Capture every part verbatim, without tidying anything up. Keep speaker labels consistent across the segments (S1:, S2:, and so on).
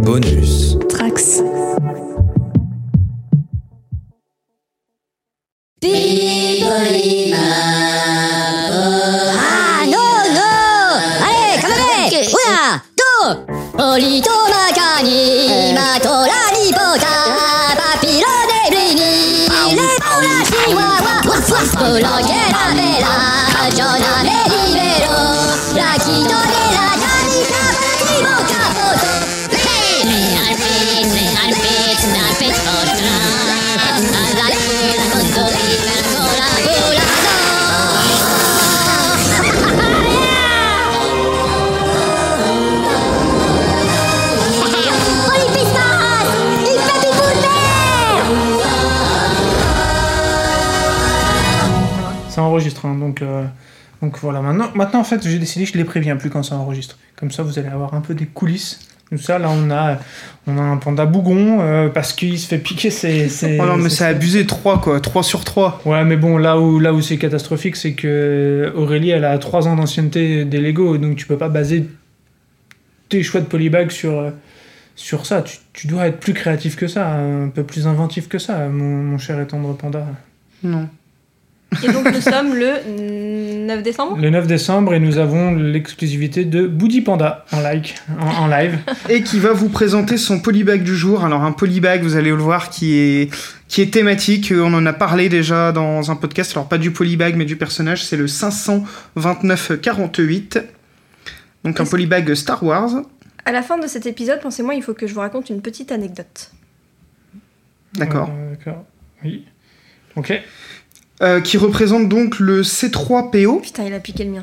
S1: Bonus
S2: Trax.
S3: Ah non, non. Allez, calmez. Una, deux. Polito macani, matola nipota, papillone blini, les paula chihuahua, waf waf, polangela bella, Giona me libero, la quito de la llanica, primo capoto. Me arpit, me arpit, me arpit, otra, la la la condolina, cola, cola,
S4: Ça enregistre, hein, donc, euh, donc voilà. Maintenant, maintenant, en fait, j'ai décidé que je les préviens plus quand ça enregistre. Comme ça, vous allez avoir un peu des coulisses. Tout ça, là, on a, on a un panda bougon euh, parce qu'il se fait piquer ses. ses
S5: oh non, mais
S4: ses,
S5: c'est abusé, trois quoi, trois sur trois.
S4: Ouais, mais bon, là où, là où c'est catastrophique, c'est que Aurélie, elle a trois ans d'ancienneté des Lego, donc tu peux pas baser tes choix de polybag sur, euh, sur ça. Tu, tu dois être plus créatif que ça, un peu plus inventif que ça, mon, mon cher et tendre panda.
S5: Non.
S6: Et donc nous sommes le neuf décembre.
S4: Le neuf décembre, et nous avons l'exclusivité de Boody Panda en, like, en, en live.
S5: Et qui va vous présenter son polybag du jour. Alors un polybag, vous allez le voir, qui est, qui est thématique. On en a parlé déjà dans un podcast. Alors pas du polybag, mais du personnage. C'est le cinq cent vingt-neuf quarante-huit. Donc un polybag Star Wars.
S6: À la fin de cet épisode, pensez-moi, il faut que je vous raconte une petite anecdote.
S5: D'accord.
S4: Euh, d'accord. Oui. Ok.
S5: Euh, qui représente donc le C trois P O.
S6: Putain, il a piqué le mien.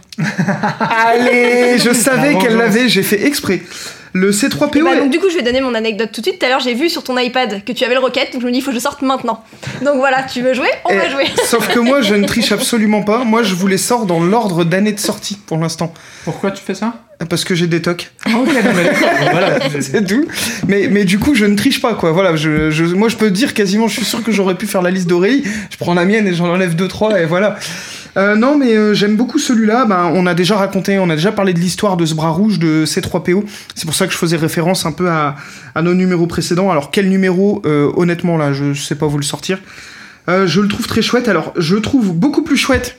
S5: Allez, je savais
S4: La
S5: qu'elle
S4: vengeance.
S5: l'avait, j'ai fait exprès. Le C trois P
S6: Et
S5: O.
S6: bah,
S5: est-
S6: donc du coup, je vais donner mon anecdote tout de suite. Tout à l'heure, j'ai vu sur ton iPad que tu avais le Rocket, donc je me dis, il faut que je sorte maintenant. Donc voilà, tu veux jouer ? On
S5: Eh,
S6: va jouer.
S5: Sauf que moi, je ne triche absolument pas. Moi, je vous les sors dans l'ordre d'année de sortie pour l'instant.
S4: Pourquoi tu fais ça?
S5: Parce que j'ai des tocs.
S4: Ok, non, mais d'accord. Voilà.
S5: C'est tout. Mais, mais du coup, je ne triche pas, quoi. Voilà, je, je, moi, je peux dire quasiment, je suis sûr que j'aurais pu faire la liste d'Aurélie. Je prends la mienne et j'en enlève deux, trois, et voilà. Euh, non, mais euh, j'aime beaucoup celui-là. Ben, on a déjà raconté, on a déjà parlé de l'histoire de ce bras rouge de C trois P O. C'est pour ça que je faisais référence un peu à, à nos numéros précédents. Alors, quel numéro, euh, honnêtement, là, je sais pas vous le sortir. Euh, je le trouve très chouette. Alors, je le trouve beaucoup plus chouette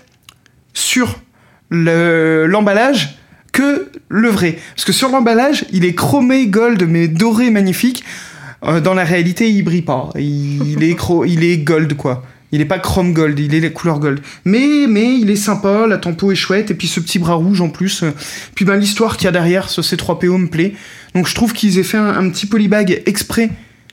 S5: sur le, l'emballage que le vrai. Parce que sur l'emballage, il est chromé gold, mais doré magnifique. Euh, dans la réalité, il brille pas. Il, il, est, cro- il est gold, quoi. Il est pas chrome gold, il est la couleur gold. Mais, mais il est sympa, la tempo est chouette, et puis ce petit bras rouge en plus. Puis ben, l'histoire qu'il y a derrière ce C trois P O me plaît. Donc je trouve qu'ils aient fait un, un petit polybag exprès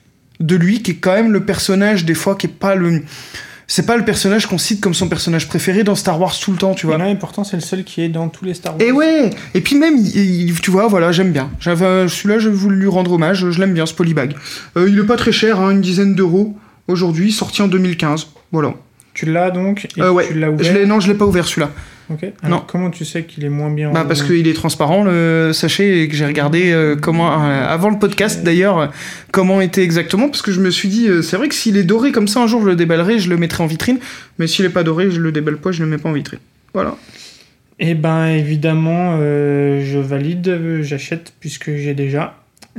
S5: de lui, qui est quand même le personnage, des fois, qui est pas le... C'est pas le personnage qu'on cite comme son personnage préféré dans Star Wars tout le temps, tu vois.
S4: Non, et pourtant, c'est le seul qui est dans tous les Star Wars.
S5: Et ouais. Et puis même, il, il- tu vois, voilà, j'aime bien. J'avais, celui-là, je voulais lui rendre hommage. Je l'aime bien, ce polybag. Euh, il est pas très cher, hein, une dizaine d'euros aujourd'hui, sorti en deux mille quinze. Voilà.
S4: Tu l'as donc et
S5: Euh, ouais.
S4: tu l'as ouvert.
S5: Je l'ai, non, je l'ai pas ouvert celui-là.
S4: Ok. Alors,
S5: Non.
S4: comment tu sais qu'il est moins bien
S5: Bah parce qu'il est transparent, le sachet, et que j'ai regardé euh, comment euh, avant le podcast d'ailleurs euh, comment était exactement, parce que je me suis dit euh, c'est vrai que s'il est doré comme ça un jour je le déballerai, je le mettrai en vitrine, mais s'il est pas doré je le déballe pas, je le mets pas en vitrine. Voilà.
S4: Eh ben évidemment, euh, je valide, euh, j'achète puisque j'ai déjà. Et,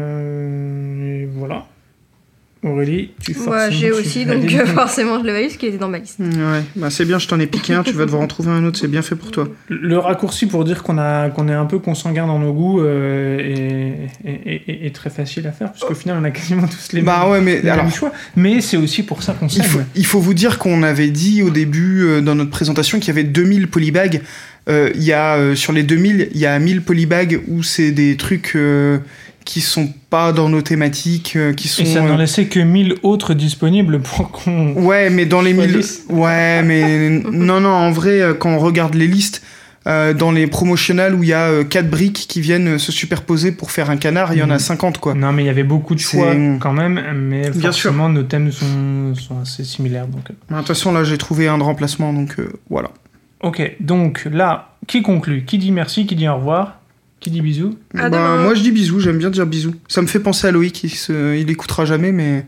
S4: euh, et voilà. Aurélie, tu forcément,
S6: Moi, j'ai
S4: tu
S6: aussi, donc
S4: valides.
S6: euh, forcément, je le valide, ce qui était dans ma liste.
S5: Ouais, bah c'est bien, je t'en ai piqué un, tu vas devoir en trouver un autre, c'est bien fait pour toi.
S4: Le raccourci pour dire qu'on a qu'on est un peu consanguin dans nos goûts euh, est, est, est- est très facile à faire, puisqu'au final on a quasiment tous les
S5: Bah
S4: mêmes,
S5: ouais, mais
S4: les
S5: alors
S4: mêmes choix. Mais c'est aussi pour ça qu'on
S5: il
S4: s'aime.
S5: faut, il faut vous dire qu'on avait dit au début euh, dans notre présentation qu'il y avait deux mille polybags. Euh, Il y a euh, sur les deux mille, il y a mille polybags où c'est des trucs euh, qui sont pas dans nos thématiques, euh, qui sont
S4: Et ça
S5: euh,
S4: n'en laissait que mille autres disponibles pour qu'on...
S5: Ouais, mais dans les mille...
S4: Police.
S5: Ouais, mais... non, non, en vrai, euh, quand on regarde les listes, euh, dans les promotionnels où il y a euh, quatre briques qui viennent euh, se superposer pour faire un canard, il y en a
S4: Mhm.
S5: cinquante, quoi.
S4: Non, mais il y avait beaucoup de choix
S5: C'est-
S4: quand même, mais
S5: Bien
S4: forcément nos thèmes sont, sont assez similaires. Donc... euh.
S5: De toute façon, là, j'ai trouvé un de remplacement, donc euh, voilà.
S4: Ok, donc là, qui conclut? Qui dit merci? Qui dit au revoir? Qui dit bisous?
S6: À
S5: Bah,
S6: demain.
S5: moi, je dis bisous, j'aime bien dire bisous. Ça me fait penser à Loïc, il, se... il écoutera jamais, mais...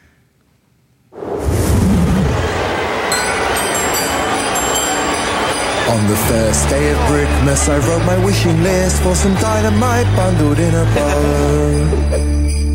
S1: On the first day of Brickmas, I wrote my wishing list for some dynamite bundled in a bow.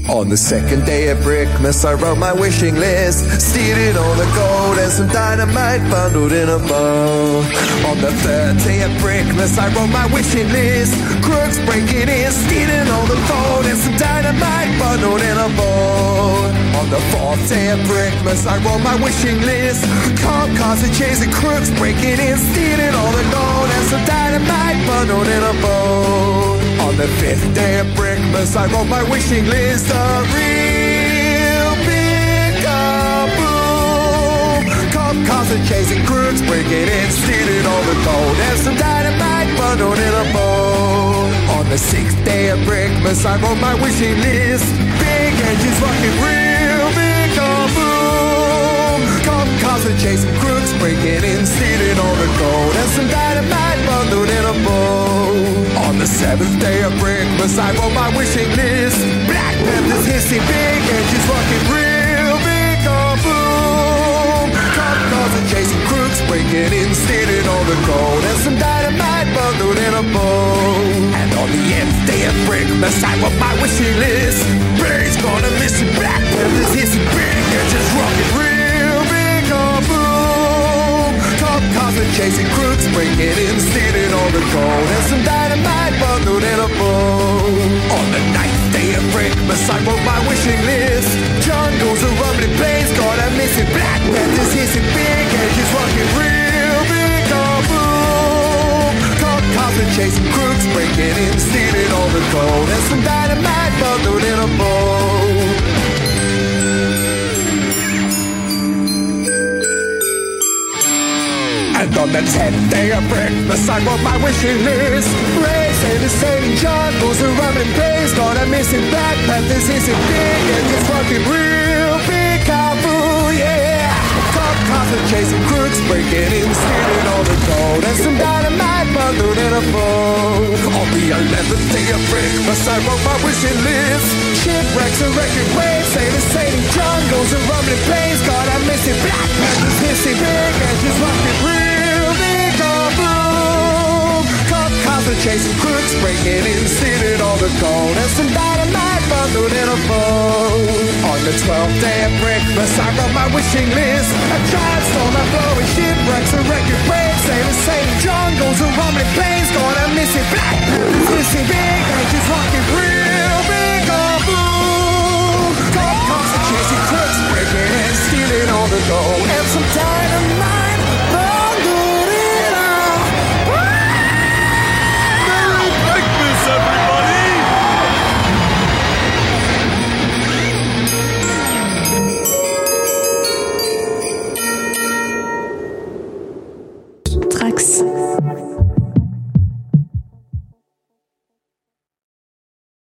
S1: On the second day of Brickmas, I wrote my wishing list, stealing all the gold and some dynamite bundled in a bow. On the third day of Brickmas, I wrote my wishing list, crooks breaking in, stealing all the gold and some dynamite bundled in a bow. On the fourth day of Brickmas, I wrote my wishing list, cop cars and chasing crooks breaking in, stealing all the gold and some dynamite bundled in a bow. On the fifth day of Brickmas, I wrote my wishing list, a real big kaboom. Cop cars are chasing crooks, breaking in, stealing all the gold and some dynamite bundled in a bow. On the sixth day of Brickmas, I wrote my wishing list, big engines rocking, real big kaboom. Cop cars are chasing crooks, breaking in, stealing all the gold and some dynamite bundled in a bow. On the seventh day of Brickmas, I wrote my wishing list, Black Panthers hissing, big engines rocking, real big kaboom. Cop cars are chasing crooks, breaking in, stealing all the gold and some dynamite bundled in a bow. And on the nth day of Brickmas, I wrote my wishing list, Barry's gonna miss it, Black Panthers hissing, big engines rocking, real big kaboom. Cop cars are chasing crooks, breaking in, stealing all the gold and some dynamite bundled in a bow. On the ninth day of Brickmas, I wrote my wishing list, jungles are rumbling, planes got a missing, Black Panthers hissing, big engines rocking, real big kaboom. Cop cars are chasing crooks, breaking in, stealing all the gold and some dynamite bundled in a bow. And on the tenth day of Brickmas, I wrote my wishing list, race and the sailing jungles are rumbling, planes got a missing, Black Panthers hissing, big engines rocking, real big kaboom, yeah. Cop cars are chasing crooks, breaking in, stealing all the gold and some dynamite bundled in a bow. On the eleventh day of Brickmas, I wrote my wishing list, shipwrecks and wrecking waves, sailors sailing jungles and rumbling, planes got a missing, Black Panthers hissing, big engines rocking, real big kaboom. Cop cars are chasing crooks, breaking in, stealing all the gold and some dynamite bundled in a bow. On the twelfth day of Brickmas, I wrote my wishing list, a giant storm and blowing, shipwrecks and wrecking waves, sailors sailing jungles and rumbling, planes got a missing, Black Panthers hissing, big engines rocking, real big kaboom. Cop cars are chasing crooks, breaking in, stealing all the gold